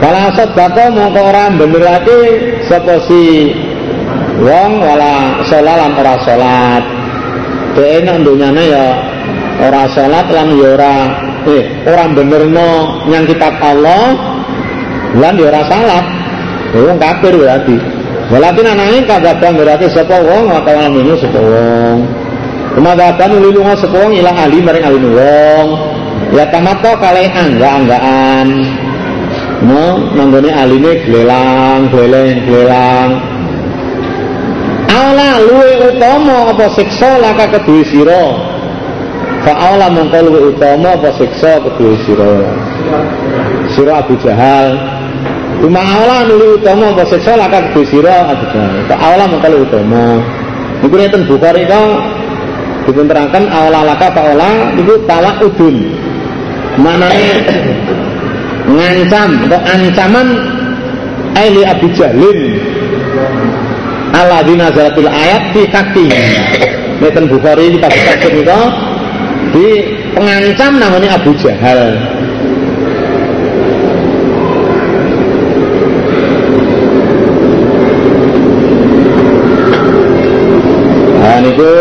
Kala sedekah mongko ora benerake sapa si wong wala salat lan ora salat. Dene nang donyane ya ora salat lan ya ora benerno nyang kitab Allah lan ya ora salat. Wong kafir berarti. Walakin anane kagabang berarti sapa wong utawa minus sapa wong. Kemadaban ulilunga sapa wong ilang ahli maring ahli wong. Ya tamato kalih angga-anggaan. Nanggone aline glelang. Ala luwe utama apa siksa laka kedue sira. Fa ala mongko luwe utama apa siksa kedue sira. Sira Abu Jahal. Cuma ala luwe utama apa siksa laka kedue sira Abu Jahal. Fa ala mongko luwe utama. Niku enten Bukhari ka diterangkan ala laka fa ala niku tawaudun. Manane ngancam atau ancaman aili Abi Jahlin alladzina nazalatil ayat fi haqi. Neten Bukhari di tafsir itu di pengancam namanya Abu Jahal. Nah niku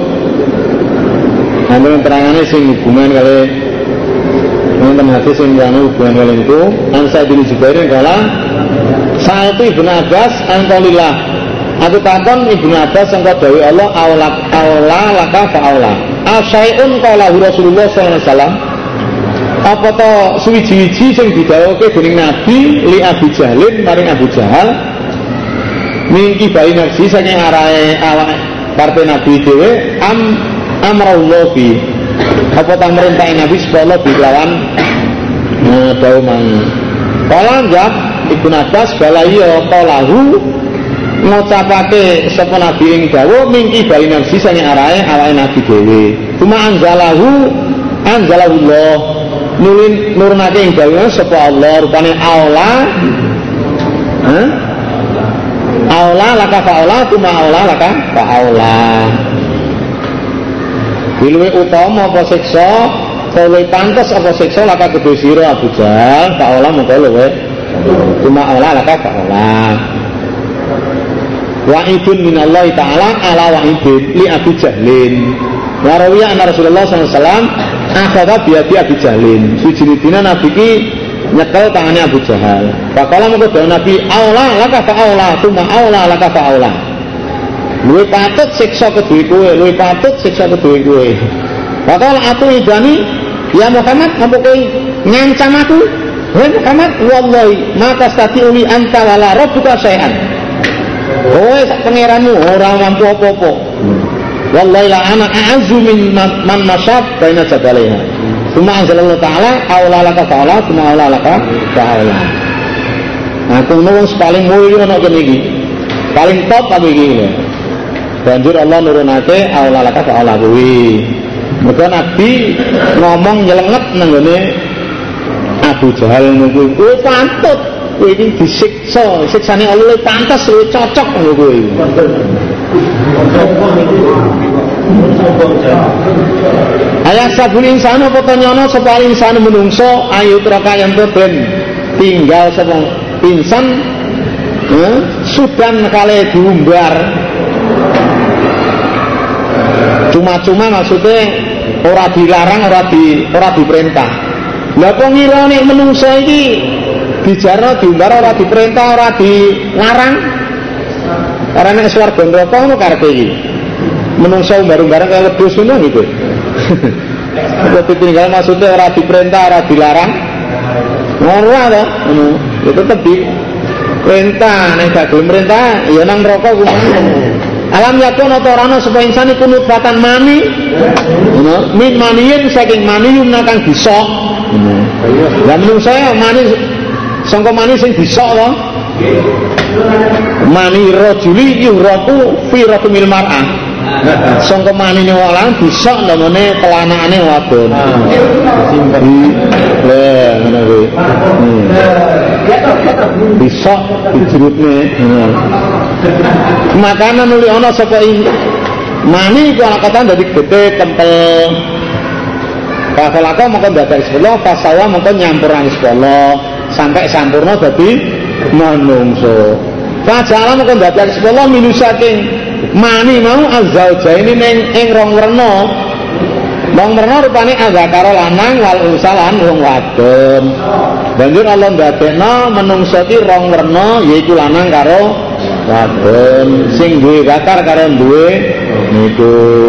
ambil terangannya sing hubungan kali teman hadis yang janu hubungan kalian itu Ansai bin Jubairin kala Sa'atu Ibn Abbas Antolillah aku takon Ibn Abbas yang kau dawi Allah awla laka fa'awla asyai'un kaulahu Rasulullah SAW apa to suwiji-wiji yang didawake dening Nabi li Abu Jahlin maring Abu Jahal mingki bayi nafsi saking arahe awak partai Nabi dewe amrullah fi apa tak merintahin Nabi supaya bilawan daun mangi. Kalau enggak Ibnu Abbas balaiyo kaulahu ngucapake sapa Nabi ing dawa mingki bali nafsi sange arahe awake Nabi dhewe. Cuma anzalahullah nurnake ing dawa sapa Allah rupane aula laka fa'aula cuma aula laka fa'aula. Bilwe utama apa siksa, luwih pantes apa siksa laka kedhe sira Abu Jahal, fa'ala mengko luwih. Cuma ala laka fa'ala. Wa'idun minallahi ta'ala ala wa'idin li Abi Jahlin. Wa rawiya anna Rasulullah sallallahu alaihi wasallam akhadha bi Abi Jahlin. Sujine dina Nabi ki nyekel tangane Abu Jahal. Faqala mengko dawuh Nabi, "Aula laka fa'aula, cuma aula laka fa'aula." Luwih patut siksa kedue kowe, luwih patut siksa kedue kowe. Bakal atu idani, ya Muhammad, apa kowe ngancam aku? Hei Muhammad, wallahi, maka stati uli anta wala rabbuka syai'an. Kowe sak pangeranmu ora mampu apa-apa. Wallahi la ana a'azzu min man masyab baina jabaliha. Cuma anzalallahu ta'ala aula laka fa'ala, cuma aula laka fa'ala. Aku nuwun paling mulya ana kene iki. Paling top apa iki? Banjur Allah nurunake aula laka fa'ala kuwi. Mergo Nabi ngomong nyelenget nang ngene Abu Jahal niku kowe pantut kowe iki disiksa, siksane Allah luwih pantes, luwih cocok kanggo kowe. Ayah sabul insan apa to nyono sapa insan menungso ayu traka yen ben tinggal sapa insan sudan kale diumbar. Cuma-cuma maksudnya ora dilarang, ora diperintah. Lah kok ngira nek menungso iki dijarno diumbar ora diperintah, ora dilarang. Ora nek swarga neraka ngono karepe iki. Menungso umbar-umbaran kaya wedhus ngono gitu. Kok ditinggal maksudnya ora diperintah, ora dilarang. Ora to, ngono. Ya tetep diperintah, nek gak gelem perintah ya nang neraka kuwi. Alam yakun atau rana supaya insan iku nutfatan mani min maniyin saking mani kang disok. Lah menung saya mani sangka mani sing disok to. Mani rajuli yuhraku fi rahmil mar'ah. Sangka manine wong lanang disok namane telanakane wadon. Lah ngono kuwi. Disok dijerutne. Makanan nuli ana sapa mani iku akatan dadi gede kempel. Pasalaka mongko dadak sepuluh pasawa mongko nyampurane sepuluh. sampai sampurna dadi manungsa. Fajala moko dadi sepuluh minu saking mani mau azaujaini ing rong werna. Wong werna rupane azakara lanang wal unsa lan wong wadon. Banjur Allah ndadekno menungsa iki rong werna yaiku lanang karo wadon, sing duwe zakar karo duwe niku.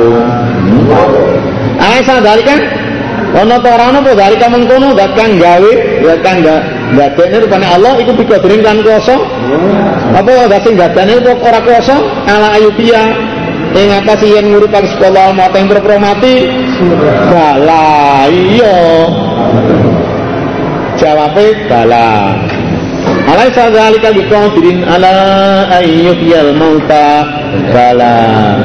Sadalika ana ta ora ana apa dalika mengkono zat kang gawe zat kang ndadekne rupane Allah iku biqadrin lan kuwasa. Apa zat sing ndadekne kok ora kuwasa ala ayubiya ing atas yen nguripan sekolah mata yang berpromati bala iya jawabnya bala alai sadhalika biqadirin ala ayyuhyal mauta bala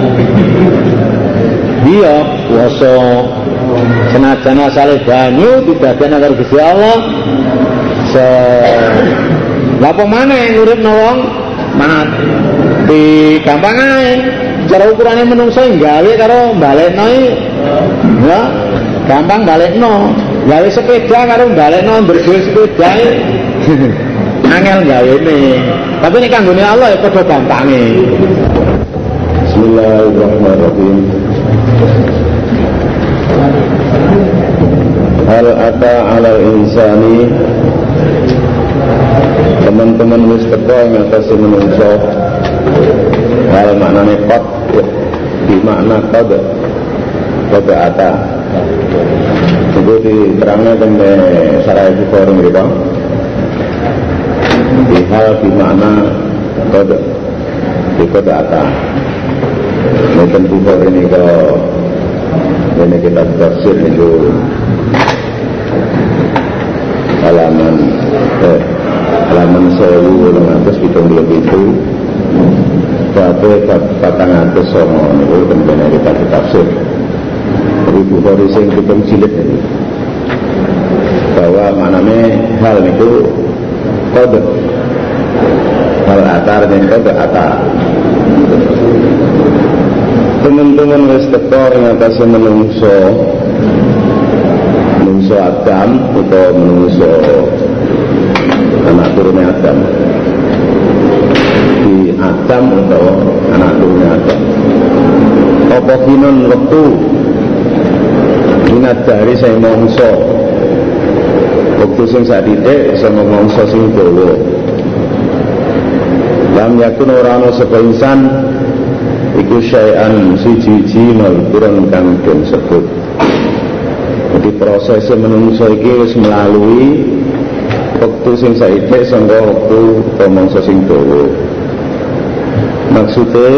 iya kuwasa senajan asale banyu didadekne karo Gusti Allah lha apa maneh nguripno wong mati gampang ae cara ukurannya menungso gawe karo balekno ya gampang balekno gawe sepeda karo balekno ndurgo sepeda angel gawene tapi nek kanggone Allah ya padha gampange. Bismillahirrahmanirrahim. Hal ata 'alal insani teman-teman wis teko ing atase menungso hal maknane qad di makna qad ata itu diterangnya dengan Syarah Bukhari mereka di hal di makna qad ata mungkin Bukhari ini kalau ini kita tafsir itu halaman 1277 Bapak patang atas sama itu kemudian kita ditafsir dari Bukhari sing hitung jilid ini bahwa maknanya hal itu kode hal atar dan kode atar teman-teman wis teko ing atase menungso Adam atau menungso anak turunnya Adam di Adam atau anak turunnya Adam apa kinon waktu ingat dari saya mongso waktu sing sadithik sama mongso sing dawa lam yakun ora ana sapa insan iku syai'an siji-siji malikuran kang den sebut. Jadi prosesnya menungso iki wis melalui waktu sing saithik sangga waktu mongso sing dawa. Maksudnya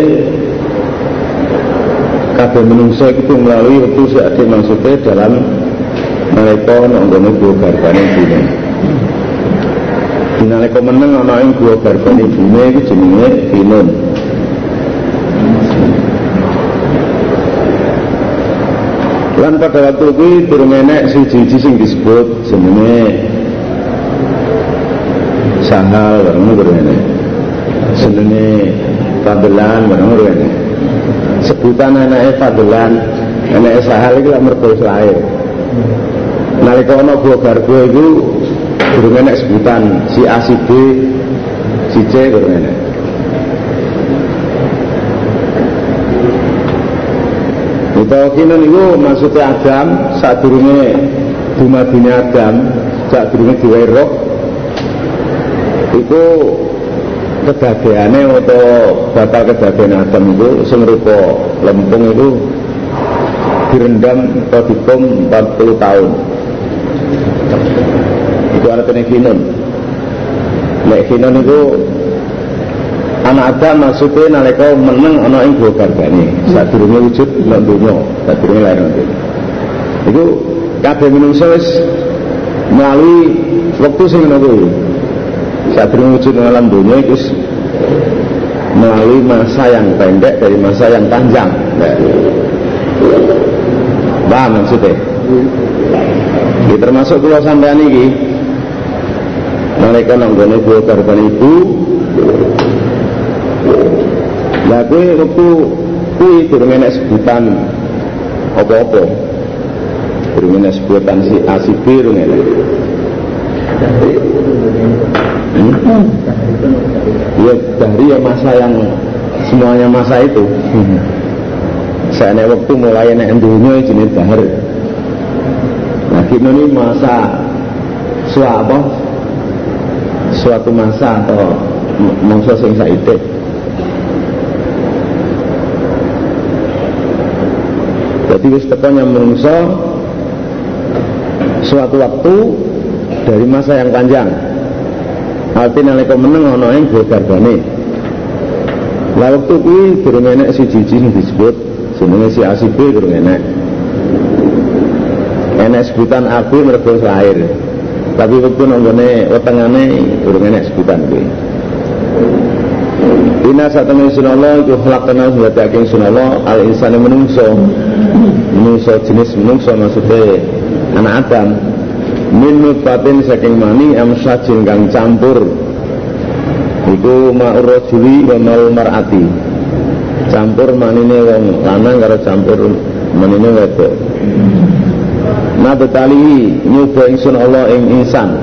kabeh menungso itu melalui waktu saithik maksudnya dalam nalika nonggone gua garbane dine. Dinalika meneng ana ing gua garbane dine iki jenenge dinun. Lan pada waktu itu durung enek siji-siji sing disebut jenenge Sahal bareng durung enek. Jenenge Fadlan bareng durung enek. Sebutan anake Fadlan, anake Sahal iki lak mergo lahir. Nalika ana Gua Garbo iku durung enek sebutan si A si B si C durung enek. Tauhinan itu maksudnya Adam saat durungnya dumadine Adam saat durungnya diwehi roh itu kedadeane atau batal kedadean Adam itu sing rupa lempung itu direndam atau dikum 40 tahun itu artinya kinun. Nek kinun itu anak Adam maksudnya nalika meneng ana ing gua garbane saat durunge wujud nang donya saat durunge lair nanti itu kabeh manungsa wis melalui wektu sing ngono kuwi saat durunge wujud nang alam donya iku melalui masa yang pendek dari masa yang panjang paham maksudnya ini termasuk kula sampeyan iki nalika nang gone gua garbane ibu lah kuwi waktu kuwi durung enek sebutan apa-apa. Durung enek sebutan si A si B durung enek. Ya dari ya masa yang semuanya masa itu. Saya nek waktu mulai nek dunia jenis dahar. Nah kita ini masa suatu masa atau masa sing saiki. Jadi wis tekannya menungso suatu waktu dari masa yang panjang. Artinya nalika meneng ana ing garbane. Lah waktu kuwi durung enek siji sing disebut jenenge si ACB durung enek. Enek sebutan AB mergo lahir. Tapi waktu nanggone wetengane durung enek sebutan kuwi. Inna satamai sunallah iku khalaqna wa ta'akin sunallah al-insani menungso jenis menungso maksudnya anak Adam min nutfatin saking mani amsyajin kang campur iku ma'ur rajuli wa ma'ul mar'ati campur manine wong lanang karo campur manine wedok nabetali nyoba ingsun Allah ing insan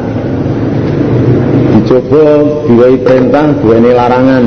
dicoba diwai perintah duweni larangan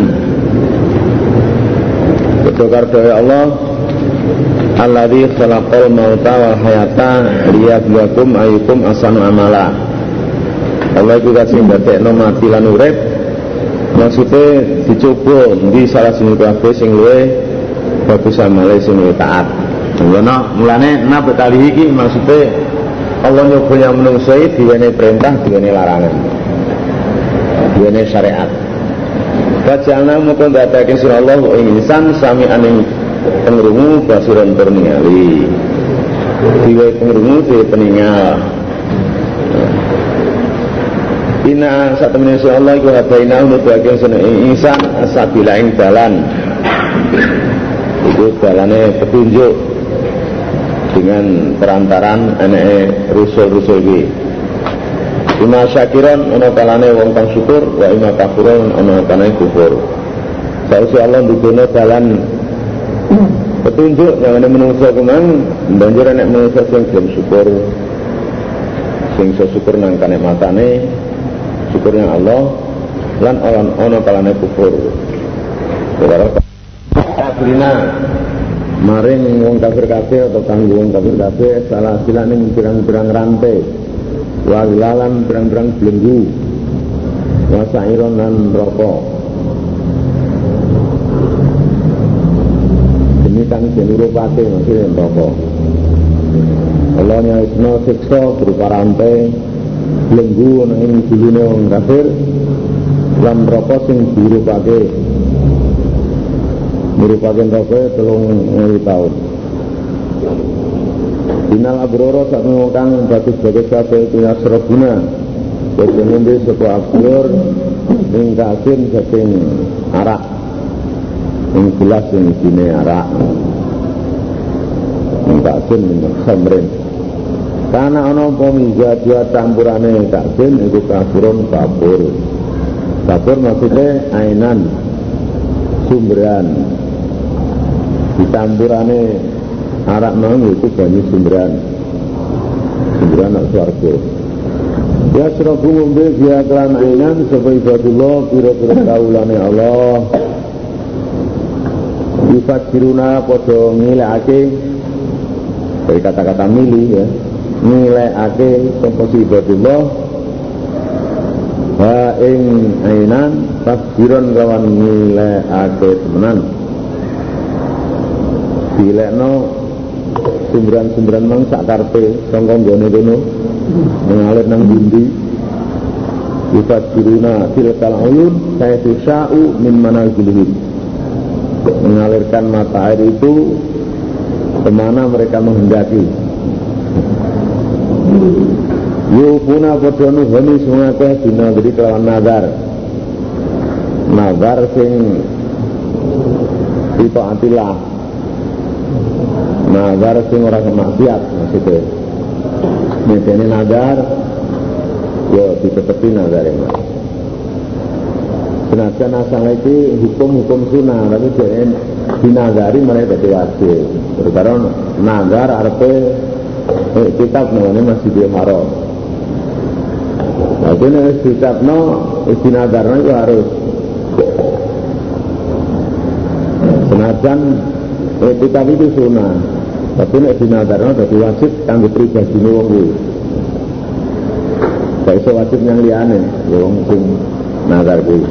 Kedokar dari Allah alladzi khalaqal mauta wal hayata liyabluwakum ayyukum ahsanu amala. Allah juga sing dadekno mati lan urip. Maksudnya dicoba di salah sini kabeh sing luwih bagus amale sing luwih taat. Ngono mulane nabetali iki maksudnya Allah nyoba yang menungso diwene perintah, diwene larangan. Diwene syariat. Kajalna muka datakin surah Allah ing insan sami aning pengrungu basiran berningali diwai pengrungu diwai peningal Ina saat temen surah Allah iku habaina untuk bagian surah insan asabila ing dalan itu dalannya petunjuk dengan perantaran aneh rusul-rusul ini Ima syakiran ana kalane wong kang syukur wa ima kafuran ana kalane kufur. Sausi Allah dudono dalan petunjuk yang ana menungso kemang banjur nek menungso sing gelem syukur. Sing iso syukur nang kanikmatane syukurnya Allah lan ana kalane kufur. Kafirina maring wong kafir kabeh atau kanggo wong kafir kabeh salah silane pirang-pirang rantai. Wawilalan berang-berang belenggu wasairon dan rokok ini kan jenuru pati maksudnya rokok Allah nyaisno siksa berupa rantai belenggu yang dulunya orang kafir dan rokok yang merupakan rokok 3.000 tahun Inal abroro saat mengukang bagus-bagus kafe itu yasrobuna jadi ngombe sebuah asyur mengkasin saking arak yang jelas yang isine arak mengkasin minum khamrin karena ada pemiza dua campurannya kasin itu kafurun kafur maksudnya ainan sumberan dicampurannya arak mau itu banyak sumberan swarga ya serabu ngombe dia kelan ainan supaya ibadullah kira-kira kaulane Allah ifakiruna podo ngilekake dari kata-kata milih ya ngilekake komposi ibadullah ha ing ainan takbiran kawan ngilekake temenan dilekno sumberan-sumberan mang sak karpe sangkong gone kono mengalir nang dindi ifat biruna tilkal uyun saya tisau min manazilihim mengalirkan mata air itu kemana mereka menghendaki yufuna podonu honi sungake dina jadi kelawan nazar sing atilah nazar sing ora kemaksiat maksudnya ini nazar yo ditetepi nazar ini senajan asal itu hukum sunnah tapi jangan dinazari mereka jadi wajib karena nazar arpe kitab namanya Masjidil Haram Tapi nek dicapno istinadarno itu harus senajan kitab itu sunah. Tapi nek dinadarno dadi wajib kanggo pribadine wong kuwi. Gak iso wajib yang liyane, wong sing nazar kuwi.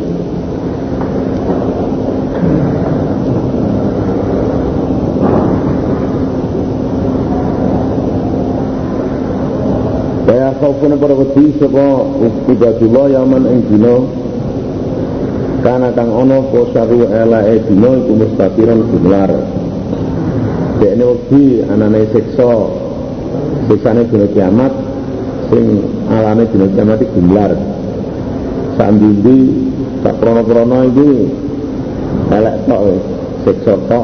Kaya khaufuna para wedi sapa ibadullah yaman ing dina kana kang ana apa saru elae dina iku mustaqiran jumlar. Dekne wedi anane siksa siksane dina kiamat sing alane dina kiamat iki jumlar. Sambindi sak prono-prono iki elek tok siksa tok.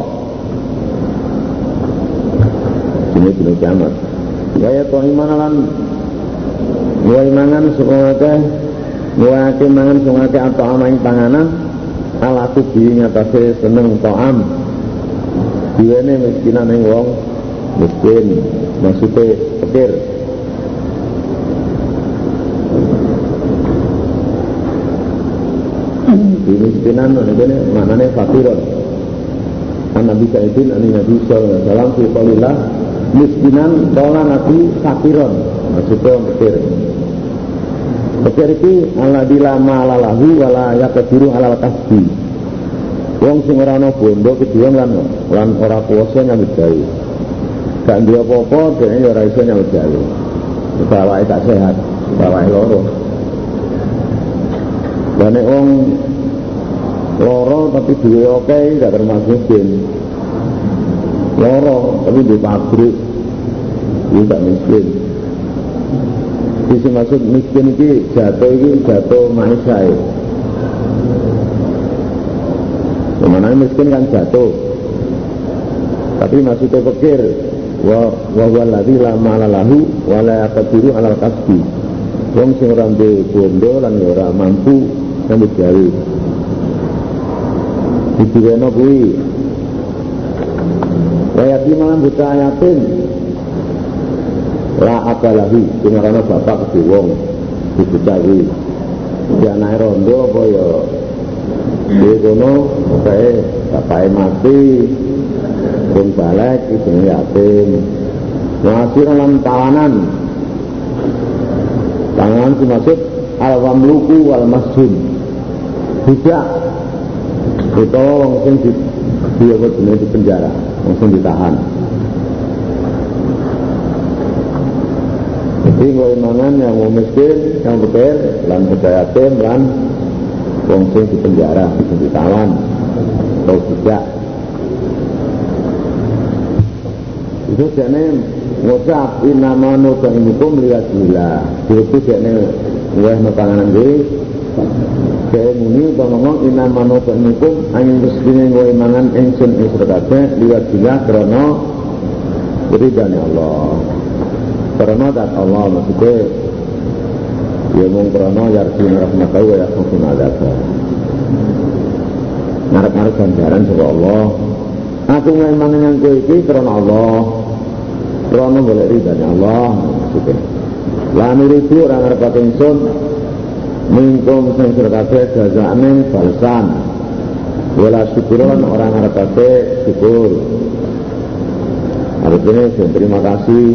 Dina kiamat. Gaya to iman lan mulai mangan sungake mangan sungake atau amaing panganan ala kubi nyatase seneng to'am diwene miskinan yang wong miskin maksudnya pikir di miskinan ini maknanya fakiron Nabi Sa'idin Nabi Sallallahu Alaihi Wasallam fi qalillah miskinan tola nabi fakiron maksudnya pikir Pikir iki ala dilama ala lahu wala yakadiru ala kasbi. Wong sing ora ana bondo kedua lan ora kuwasa nyambut gawe. Gak duwe apa-apa dene ora iso nyambut gawe. Bawake tak sehat, bawake loro. Dene wong loro tapi duwe oke gak termasuk miskin. Loro tapi di pabrik iki gak miskin. Bisa maksud miskin ini jatuh maisai. Kemana miskin kan jatuh. Tapi maksudnya pikir wa waladhi la ma'alalahu wa la yaqdiru 'alal kasbi. Wong sing ora duwe bondo lan ora mampu nyambut gawe. Didiweno kuwi. Wa yakiman buta yatim. La apalahi karena bapak ke wong dibutawi dia naik rondo apa ya dia kono kayak bapaknya mati pun balik itu yatim ngasih dalam tawanan itu maksud al-wamluku wal-masjun budak itu orang yang di penjara orang yang ditahan. Jadi golongan yang mau miskin, yang betul, lan yatim, lan wong sing di penjara, ditawan, atau tidak. Itu jane ngucap inama nu'imikum liyadillah. Itu jane ngeh panganan iki. Saya muni utawa ngomong inama nu'imikum angin mestine nggoe mangan ingsun ing sedekah liyadillah krana ridane Allah. Karena dat Allah maksudnya dia mengkarena yarjun rahmatahu wa yakhufun adabah ngarep-ngarep ganjaran sama Allah aku memang yang kue ini karena Allah karena boleh ridhanya Allah maksudnya lani ridu orang ngarep patingsun mingkum sing serkate jaza'ane balsan wala syukuran orang ngarep syukur artinya terima kasih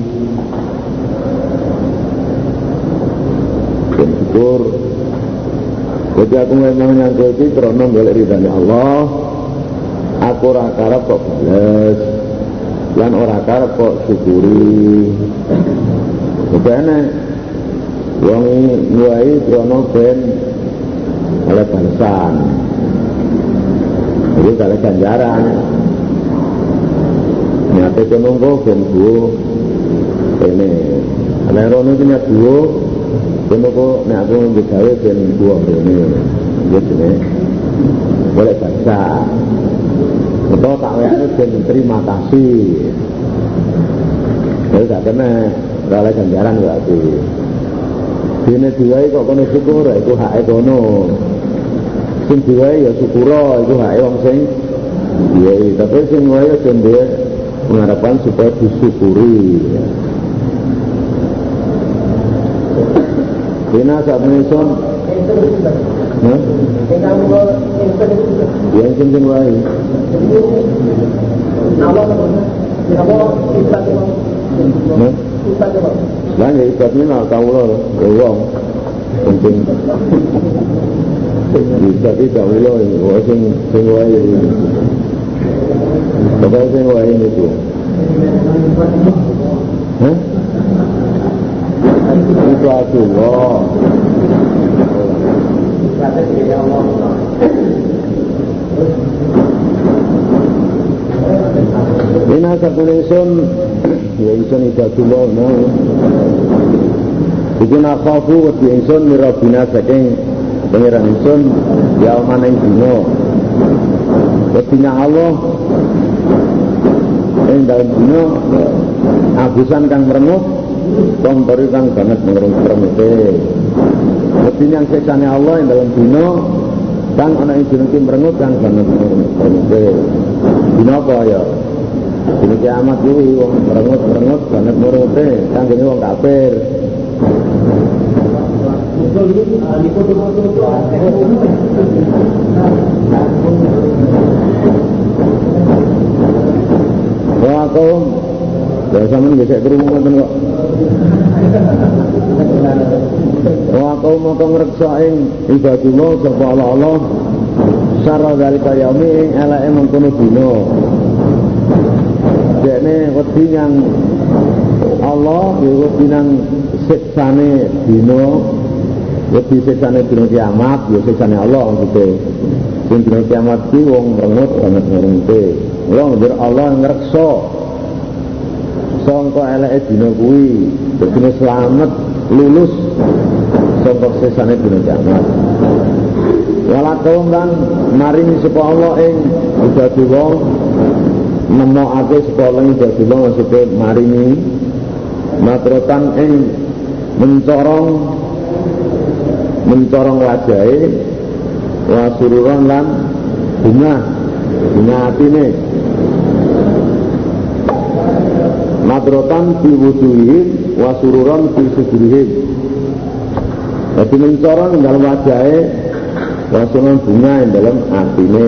syukur. Jadi aku memang nyangka itu karena boleh ridhanya Allah. Aku ora karep kok bales, lan ora karep kok syukuri. Bagaimana? Wong nguai karena ben oleh balasan. Itu kalau ganjaran. Nyata itu nunggu ben bu. Ini, ada rono itu nyata bu. Kenapa nek aku digawe ben buah rene. Gitu nek. Boleh baca. Betul tak wayane ben terima kasih. Wis gak kena oleh ganjaran berarti. Dene diwae kok kono syukur iku hake kono. Sing diwae ya syukur iku hake wong sing diwae. Tapi sing wae ben duwe pengharapan supaya disyukuri. Dina sak mesun. Hah? Ya sing wae. Lah ya ibadnya nak kawula wong penting bisa tidak kawula sing wae bapak sing wae itu hah itu Allah Ina sakulisun ya insun ibadullah mau bikin akhafu wedi insun mirabina saking pengiran insun ya mana yang dino wedinya Allah yang dalam dino abusan kang merengut kontori kang banget meremute wedinya yang seksanya Allah yang dalam dino kang anak yang dino merengut kang banget meremute dino apa ya dino kiamat kuwi wong merengut banget meremute kang dene wong kafir wah kaum ya sampeyan gesek krungu ngoten kok wah kaum moko ngreksa ing ibadullah sapa Allah sarra dalika yaumi ing eleke mengkono dina dekne wedi yang Allah ya wedi nang siksane dina wedi siksane dina kiamat ya siksane Allah gitu sing dina kiamat ki wong merengut banget ngrungte wong ndir Allah ngreksa sangka eleke dina kuwi dene slamet lulus sangka siksane dina kiamat wala kaum lan maringi sapa Allah ing ibadullah nemokake sapa Allah ing ibadullah maksude maringi matrotan ing mencorong wajahe wa sururan lan bunga atine madrotan fi wujuhihim wa sururan fi sudurihim jadi mencorong dalam wajahe wa sururan bunga dalam atine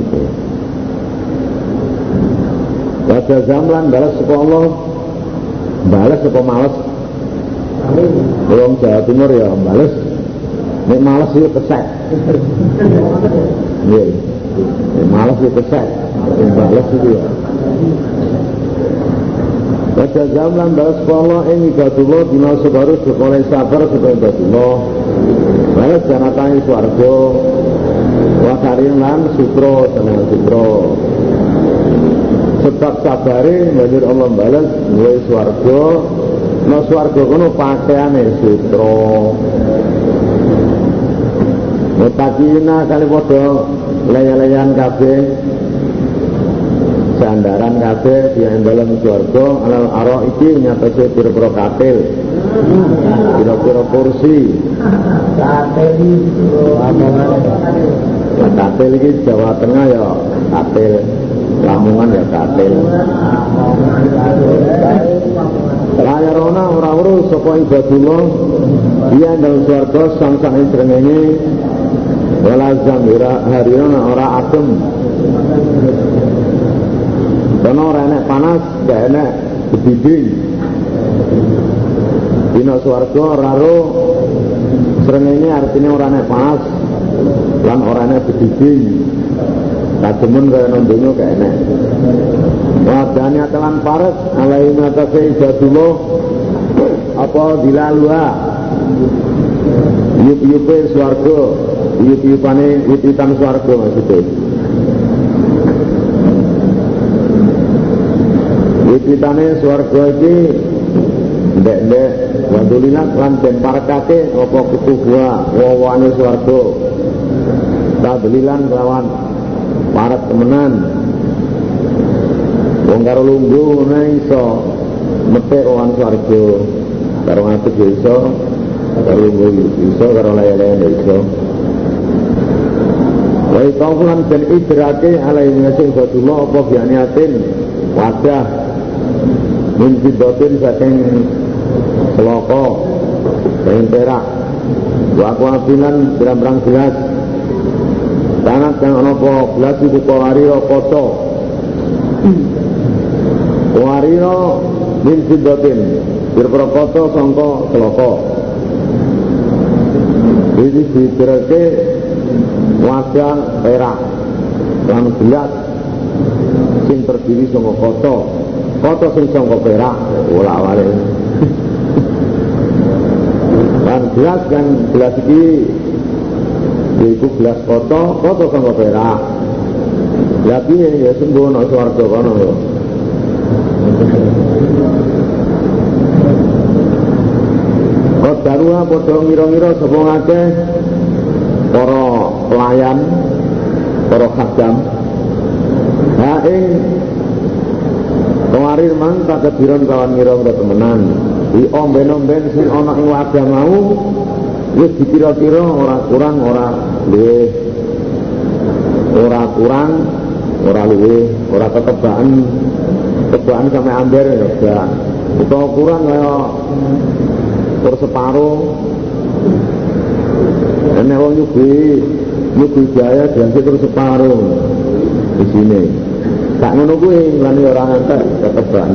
wajah zamlan balas sapa Allah balas sapa males wong Jawa Timur ya bales nek males yo kesek nggih nek males yo kesek bales iki ya baca zaman balas Allah ing ibadullah dina sebaru sekole sabar supaya ibadullah balas janatane swarga wa karin lan sutra seneng sutra sebab sabare banjur Allah balas duwe swarga no swarga kono pakaiane sutra mutakina kali padha laya-layan kabeh sandaran kabeh yang dalam swarga alal ara iki nyatase pira-pira katil pira-pira kursi katil iki Jawa Tengah ya katil Lamongan ya katil layar ora urus sapa ibadullah dia dalam swarga sang-sang srengenge wala zamira harina ora adem kono ora enek panas gak enek bediding dina swarga ora ro srengenge artine ora enek panas lan ora enek bediding kademen kaya nang donya gak enek wadane telan pares alai matase ibadullah apa dilalua yup-yupe swarga yup-yupane wititan swarga maksudnya wititane swarga iki ndek-ndek wandulinat lan den parekake apa ketubuha wawane swarga tadlilan kelawan parek temenan wong karo lungguh ngono iso metek wong swarga karo ngadeg iso karo lungguh iso karo laya-laya iso wa taulan dan idrake alaihi nasing batullah apa bianiatin wadah min fidatin saking seloko saking perak wa kuabilan berang-berang gelas tanat kang ana apa gelas iku kawarira kaca kawarira min sidatin pira-pira kaca sangka celaka iki diterke wadah perak lan gelas sing terdiri saka kaca sing saka perak ora wale lan gelas kan gelas iki yaiku gelas kaca saka perak lha piye ya sembuh nang swarga kono lho Kodarua padha ngira-ngira sapa ngakeh para pelayan para khadam ha ing kawarir mang tak kediron kawan ngira-ngira temenan di omben-omben sing ana ing wadah mau wis dikira-kira ora kurang ora luwih ora kurang ora luwih ora ketebakan sampe amber ya utawa kurang kaya per separo nek wong nyuguhi jaya dianggep terus separo di sini tak ngono kuwi lan ora ngantek ketebakan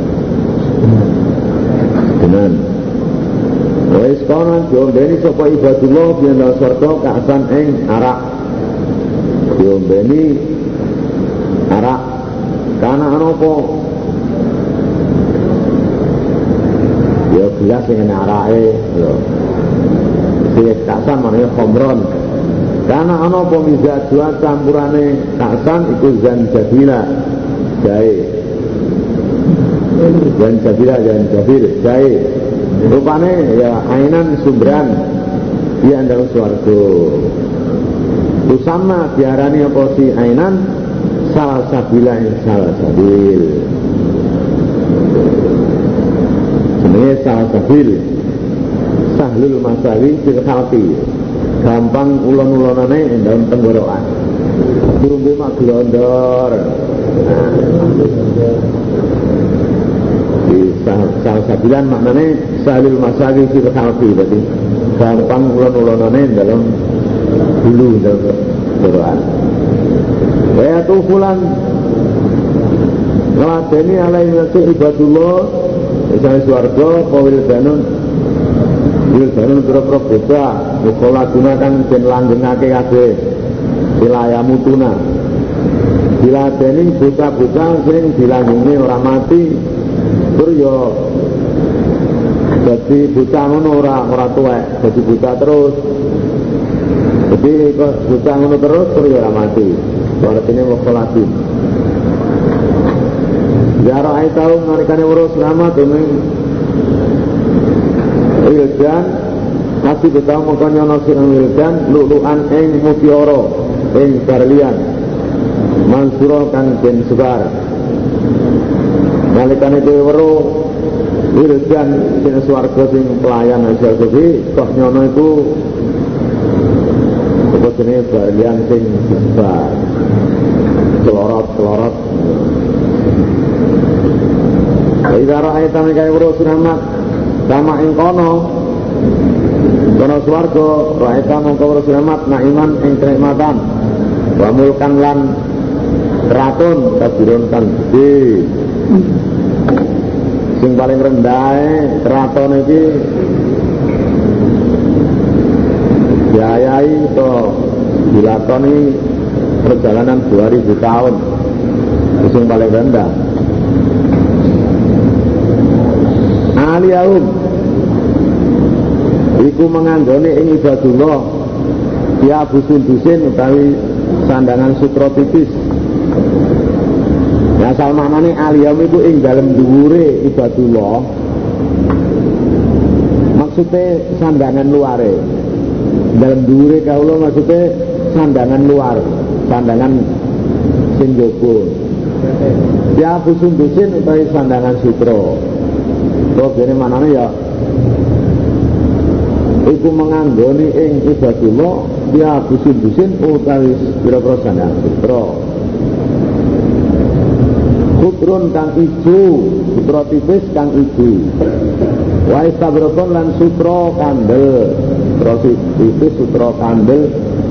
tenan wis kono diombeni sapa ibadullah yen swarga kasan ing arak diombeni arak kana ana apa ya gelas sing ana arake lho sing kasan manane khomron kana ana apa mizajua campurane kasan iku zanjabila jahe zanjabir jahe rupane ya ainan sumberan di andang swarga usama diarani apa si ainan salah sabila salah sabil jenenge salah sabil sahlul masawi fil khalqi gampang ulon-ulonane dalam tenggorokan turunge mak glondor salah sabilan maknane sahlul masawi fil khalqi berarti gampang ulon-ulonane dalam bulu dalam tenggorokan kaya tufulan ngeladeni alaihi nasi ibadullah misalnya suarga wildanun berapa bocah mukola gunakan dan langgengake kabeh silayamutuna diladeni bocah-bocah sing dilanggengi orang mati terus yo jadi bocah ngono ora tuwek jadi bocah terus jadi bocah ngono terus ora mati artinya mukolatin jara ai tau narikane urus selamat dening wildan masih betau mongkon ana sing wildan luluan ing mutiara ing barlian mansura kang den sebar nalikane dhewe weruh wildan sing swarga sing pelayan asal kuwi kok nyono iku apa jenenge barlian sing sebar celorot Idara ayatan kaya weruh selamat sama ing kono swarga raita mongko weruh selamat naiman ing kenikmatan wa mulkan lan keraton kabiron kan gede sing paling rendah keraton iki diayai to dilakoni perjalanan 2000 tahun sing paling rendah aliyahum iku menganggone ing ibadullah ya busun-busin utawi sandangan sutra tipis ya asal maknane aliyahum iku ing dalem dhuwure ibadullah maksudnya sandangan luare dalam dhuwure kawula maksudnya sandangan luar sandangan sing jaba ya busun-busin utawi sandangan sutra kok dene manane ya iku menganggoni ing ibadullah dia busin-busin utawi pira-pira sandangan sutra kudrun kang ijo sutra tipis kang ijo wa istabrokon lan sutra kandel sutra itu sutra kandel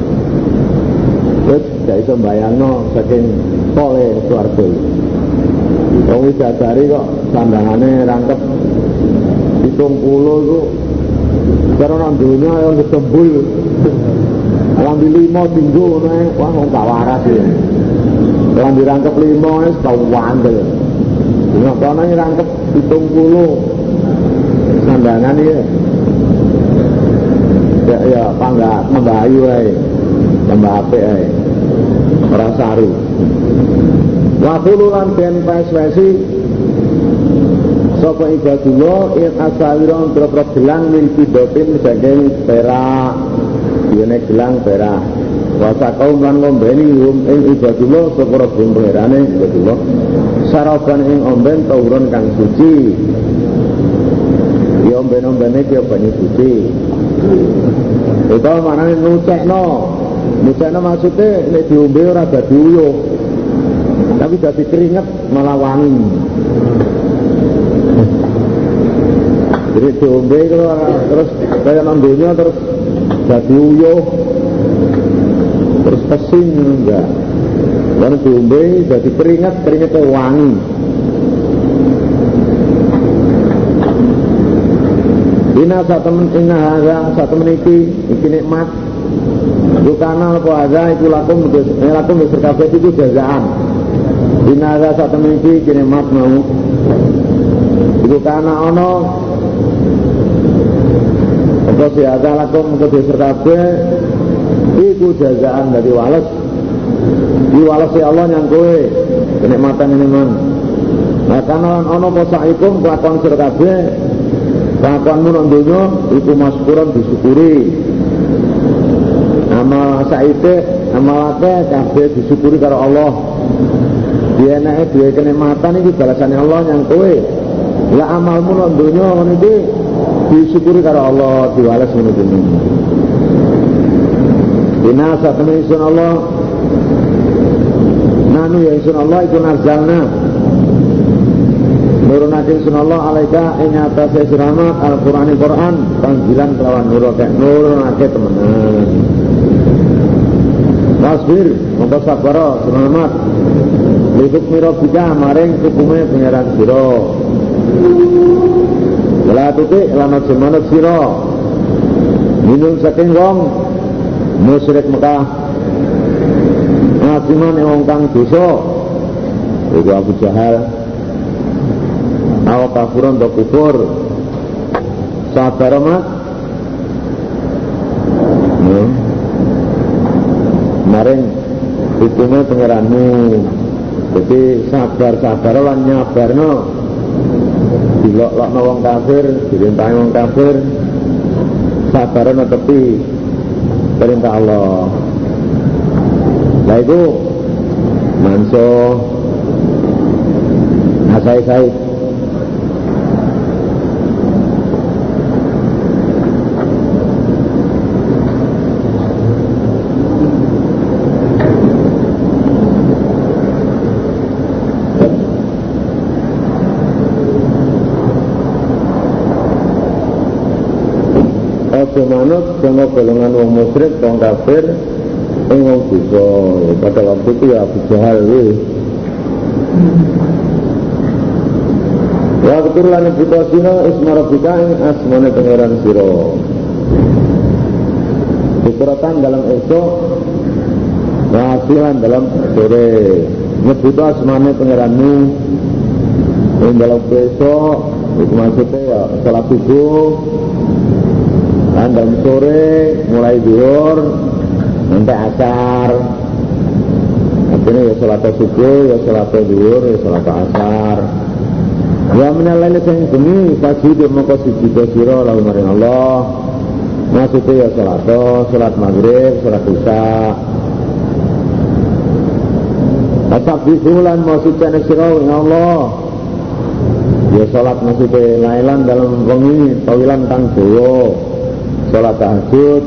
terus gak iso mbayangno saking pole swarga. Wong widadari kok sandangane rangkep 70 iku karo nang donya ayo ketembul. Lambi 5 dinggo ngono ae, wah wong gak waras ya. Lambi rangkep 5 wis tau wandel. Dina kono rangkep 70 sandangan iki. Ya pangga membahayu ae. Tambah apik ae. Ora saru. Wakulu lan den peswesi sapa ibadullah in asawiron terus gelang min fidotin saking perak yene gelang perak wasa kaum lan ngombeni ing ibadullah sapa bumberane ibadullah saraban ing omben tauron kang suci ya omben-ombene ki banyu suci utawa manane nucekno maksudnya nek diombe ora dadi uyuh tapi dadi keringet malah wangi. Jadi diombe terus kaya nang donya terus dadi uyuh terus pesing enggak. Lalu diombe dadi keringetnya wangi. Ina satu meniki iki nikmat. Dukana apa ada iku lakum besar kabeh itu jazaan. Dinaga satu mimpi kini mat mau. Iku kana ono apa sih ada lakum besar kabeh iku jazaan dari wales. Di wales si Allah yang kowe kenikmatan ini man. Nah kana ono posaikum kelakuan sira kabeh kelakuanmu nang donya iku maskuran disyukuri. Amal saite amalake kabeh disyukuri karo Allah. Dia enake duwe kenikmatan iki balasane Allah yang kowe. Lah amalmu nang donya ngono iki disyukuri karo Allah, diwales ngono iki. Dina satene isun Allah. Nanu ya isun Allah iku nazalna. Nurunake isun Allah alaika ing atase siramat Al-Qur'an tanzilan kelawan nurunake temenan. Wasbir, mongko sabara selamat. Lihat miro kita maring hukumnya pengeran siro. Setelah tutik lama semangat siro. Minum saking wong musyrik Mekah. Ngasiman wong kang dosa. Iku Abu Jahal. Awa kafuran do kufur. Sabar mak. Maring hukumnya pengeranmu. Jadi sabar lan nyabarno. Dilok-lokno wong kafir, dirintahi wong kafir. Sabarno tepi perintah Allah. Lah iku manso asai-sai. Manut sama golongan wong musyrik, wong kafir, wong dosa. Pada waktu itu ya Abu Jahal waktu lan ibutosina ismarabika ing asmane pangeran sira. Dikuratan dalam esok, wasilan dalam sore. Nyebut asmane pangeranmu ing dalam esok, itu maksudnya ya salat subuh. Dan sore mulai zuhur sampai asar. Artinya ya salat subuh, ya salat zuhur, ya salat asar. Ya menalai sing bengi pagi dia moko sujud sira lalu maring Allah. Maksudnya ya salat maghrib, salat isya. Asab bisulan maksudnya sira ya Allah. Ya salat maksudnya lailan dalam wengi, tawilan kang dawa. Salat tahajud.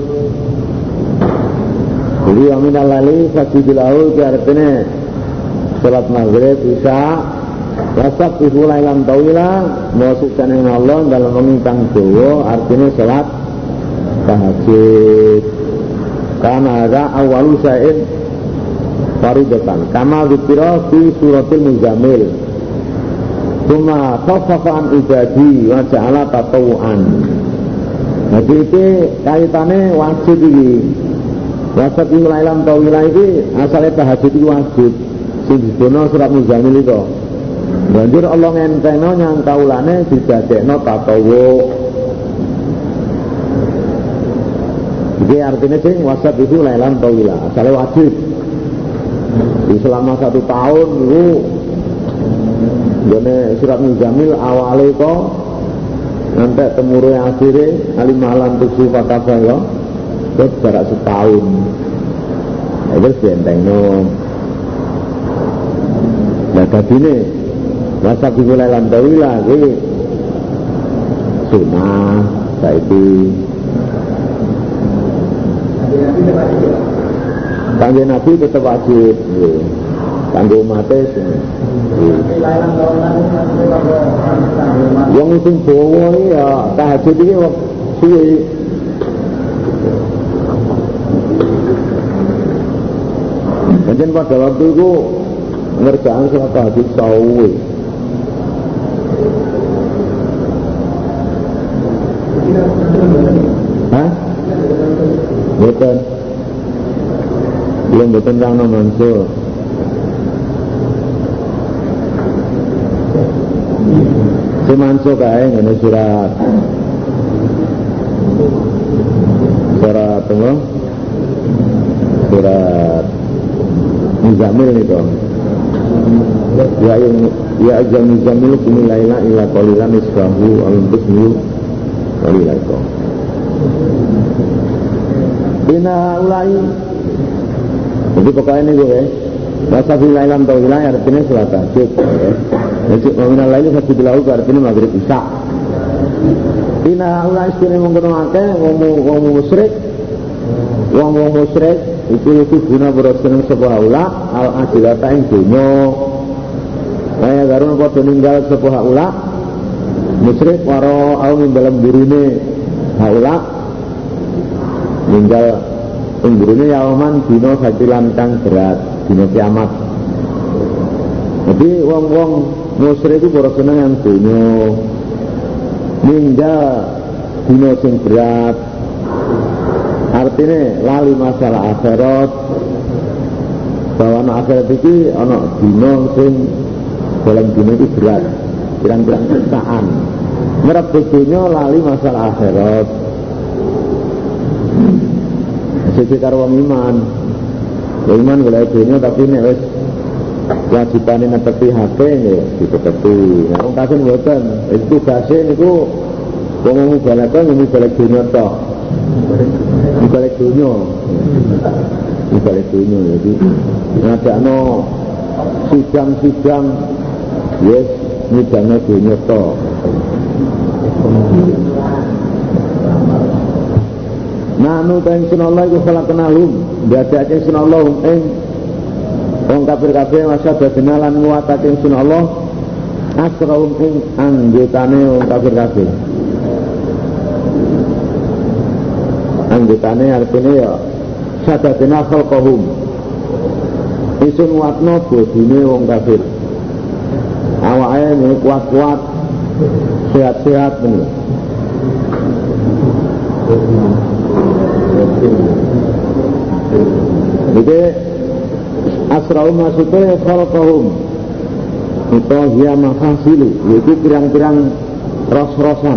Jadi aminal lali fasidilahu artinya salat maghrib isya wasab ifulailan tawila maksudkan Allah dalam mengintang dawa artinya salat tahajud. Karena ada awalu syai'in faridatan kama dzikra fi suratil muzammil. Cuma khafafan ibadi wa ja'ala tatawuan. Jadi itu kaitannya wajib ini. Wajib ilailam tawilah ini asalnya tahajud itu wajib. Sing didono surat muzammil itu. Banjur Allah ngenteno nyang kaulane didadekno tatawu. Jadi artinya sing wajib itu ilailam tawilah asalnya wajib. Di selama 1 tahun itu jane surat muzammil awale kok nanti temure akhire alimalan tujuh fatafah ya terus jarak setahun itu dientengno. Nah dadine rasa dimulai lantawi lagi sunah saiki kangge Nabi tetap wajib kangge umatnya wong sing Jawa ya tahajud iki suwe. Pancen pada waktu itu ngerjakan salat tahajud suwe. Hah? Betul. Belum betul Rano Mansur. Si Mansur kaya ngene surat apa? Surat Muzammil itu. Ya ajam Muzammil kumi laila illa qalilan isbahu al-bismi qalilan itu. Ina ulai. Jadi pokoknya ini gue masa filailam tau wilayah artinya sholat tahajud. Jadi meminal lain satu dilaku artinya maghrib isya. Ina ulai sekali menggunakan wong musyrik. Wong musyrik itu guna bersenang sebuah ula al adilata yang dunia. Kaya karena kau meninggal sebuah ula musyrik waro au dalam burine haula meninggal ini yaman dino sajilan kang berat dino kiamat. Jadi wong-wong musyrik itu baru seneng yang dunia ninggal dino sing berat artinya lali masalah akhirat bahwa anak akhirat itu anak dino sing dalam dino itu berat pirang-pirang siksaan merebut dunia lali masalah akhirat. Jadi karo wong iman golek dunia tapi nek wis wajibane netepi hake nggih ditetepi. Nek wong kafir mboten, itu tugase niku wong balakan golek dunia tok. Golek dunia. Jadi ngadakno sidang-sidang yes nyidangno dunia tok. Nanu ta'ing sunallah iku khalaqnahum dadake sunallah ing wong kafir-kafir masyada denalan nguatake sunallah asraum ing anggotane wong kafir-kafir. Anggotane artine ya sadadena khalqahum isun nguatno bodine wong kafir. Awake kuat-kuat sehat-sehat bener. Jadi asra'u maksudnya khalaqahum itu dia mahasilu yaitu pirang-pirang ros-rosan.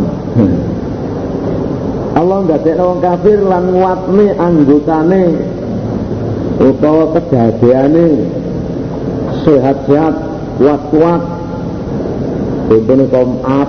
Allah ndadekno wong kafir lan nguatne anggotane utawa kedadeane sehat-sehat kuat-kuat contohnya kaum Ad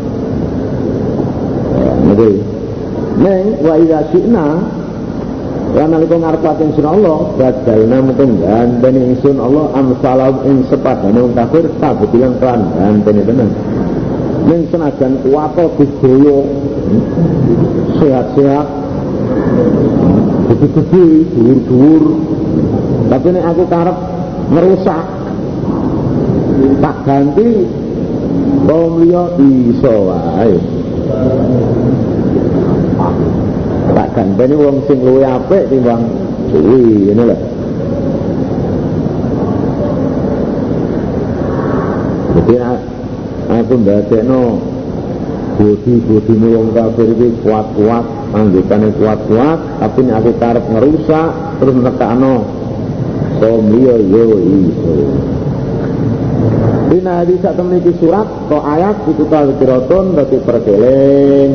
neng wa idza syi'na lan nalika ngarepaken sun Allah badalna mungkin gantene ingsun Allah amsalam ing sepadane wong kafir sabetulan kan gantene tenan ning senajan kuwat digaya sehat-sehat gede-gede dhuwur-dhuwur tapi nek aku karep ngerusak tak ganti kaum liya iso wae. tak ganteni wong sing luwih apik timbang suwi ngene lho. Jadi aku ndadekno budi wong kafir iki kuat-kuat, anggotane kuat-kuat, tapi nek aku karep ngerusak terus nekakno somliya yo iso. Dina hadis sak temene surat kok ayat itu tazkiratun dadi perkeling.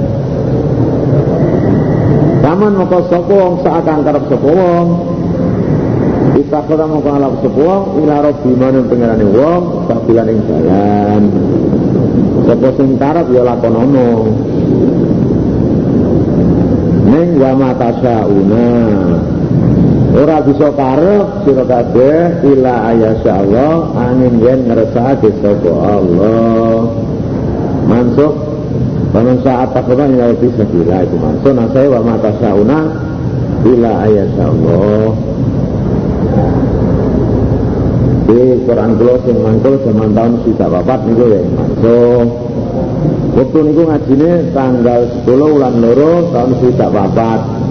Zaman moko sapa wong saakang karep sapa wong. Kita kota moko alap sapa wong ila rabbi manung pengerane wong sabilan ing dalan. Sapa sing karep ya lakonono. Ning wa matasyauna. Ora bisa karep sira kabeh ila ayasyaallah angin yen ngersake sapa Allah. Mansuk paman saat takuna ya bisa kira itu mansuk nah saya wa matasyauna ila ayasyaallah. Di Quran kula sing mangkul zaman tahun 14 niku ya mansuk. Waktu niku ngajine tanggal 10 bulan 2 tahun 14.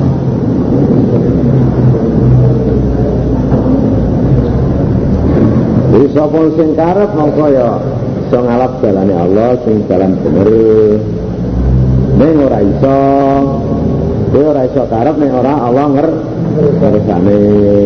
Jadi sapa sing karep mongko ya iso ngalap jalane Allah sing jalan bener. Ning ora iso. Kowe ora iso karep ning ora Allah ngersane.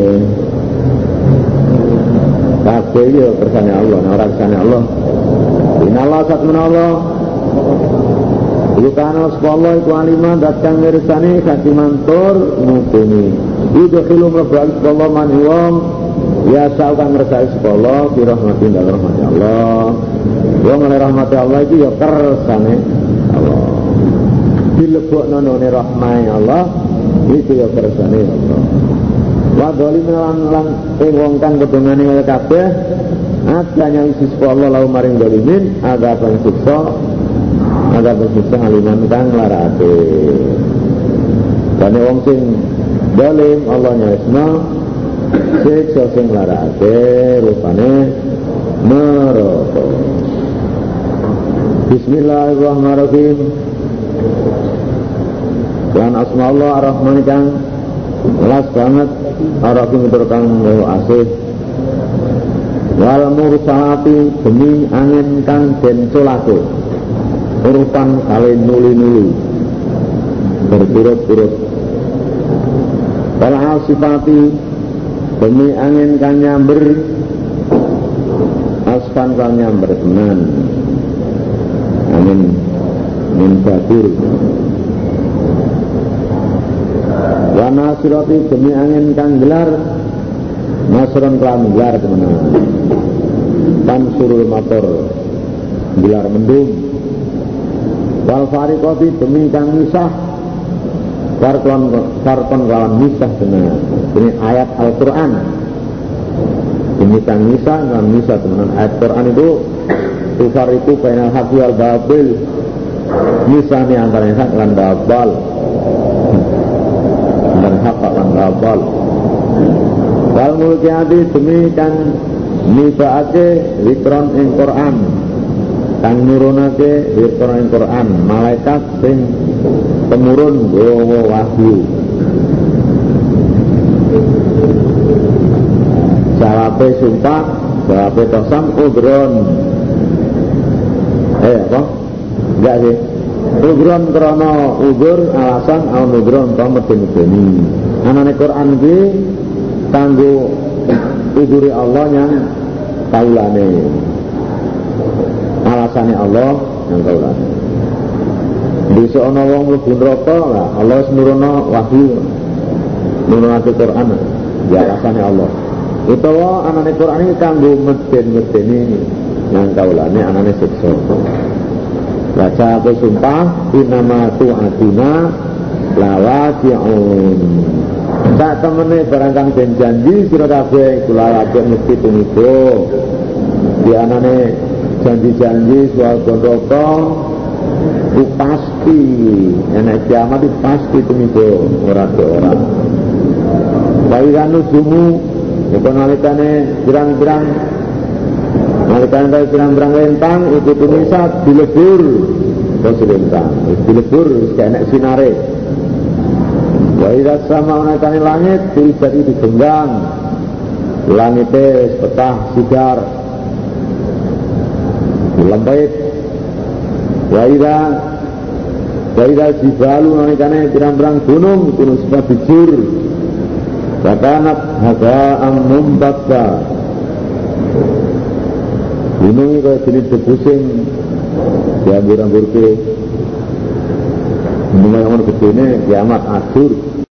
Kabeh yo kersane Allah, ora kersane Allah. Inallah satmana Allah. Iku kana sepuluh iku aliman datang ngersane katimantur mutuni. Iku khilu mlebu Allah man wong ya saukan ngersai sekolah di rahmatin dan rahmat Allah. Wong oleh rahmat Allah itu ya kersane Allah. Dilebokno none rahmat Allah itu ya kersane Allah. Wa dolim lan wong kang kedungane kaya kabeh adanya isi sekolah lau maring dolimin ada pensiksa aliman kang larate. Dene wong sing dolim Allah nyesna siksa sing larate rupane neraka. Bismillahirrahmanirrahim. Lan asma Allah ar-Rahman kang las banget ar-Rahim kang asih. Wal mursalati demi angin kang den colake urutan kali nuli-nuli berturut-turut. Wal asifati demi angin kan nyamber asfan kan nyamber tenan angin batur. Wa nasirati demi angin kan gelar nasron kan gelar tenan tan surul motor gelar mendung. Wal fariqati demi kang misah karton kalam misah tenan. Ini ayat Al-Quran. Ini kan misah dan misah teman. Ayat Quran itu tufar itu bainal haqi wal batil. Misah ini antara hak dan batil. Antara hak dan batil. Wal mulkiyati demi kan nibaake zikron ing Quran. Kang nurunake zikron ing Quran. Malaikat sing pemurun gawa wahyu. Jawabe sumpah, jawabe tosam udron. Apa? Enggak sih. Udron krono udur alasan al udron to medeni. Anane Quran iki kanggo udure Allah yang kaulane. Alasane Allah yang kaulane. Bisa ana wong mlebu neraka, Allah nurono wahyu. Nurunake Quran. Ya alasane Allah. Utawa anane Quran ini kanggo medeni yang kaulane anane siksa. Baca apa sumpah inama tu'atina lawaji'un. Tak temene barangkang den janji sira kabeh kula kabeh mesti tumiba. Di anane janji-janji swarga neraka itu pasti enak kiamat itu pasti tumiba ora ora. Bayi kanu jumu itu nalikane berang-berang lentang itu tumisat dilebur terus lentang dilebur kayak sinare Wa idza sama onatane langit jadi digenggang. Langite petah sigar. Lembait. Wa idza jibalu onatane pirang-pirang gunung sebab bijur. Katanat hada'am mumbakka. Gunung ini kaya jenis debusing diambur-ambur ke. Ini ngomong begini kiamat akhir.